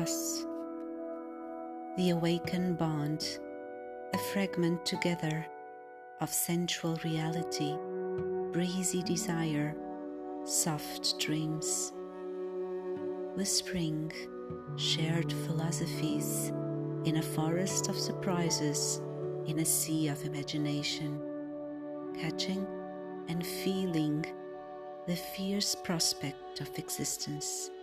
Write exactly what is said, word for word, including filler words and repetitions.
us. The awakened bond, a fragment together of sensual reality, breezy desire, soft dreams. Whispering shared philosophies in a forest of surprises, in a sea of imagination, catching and feeling the fierce prospect of existence.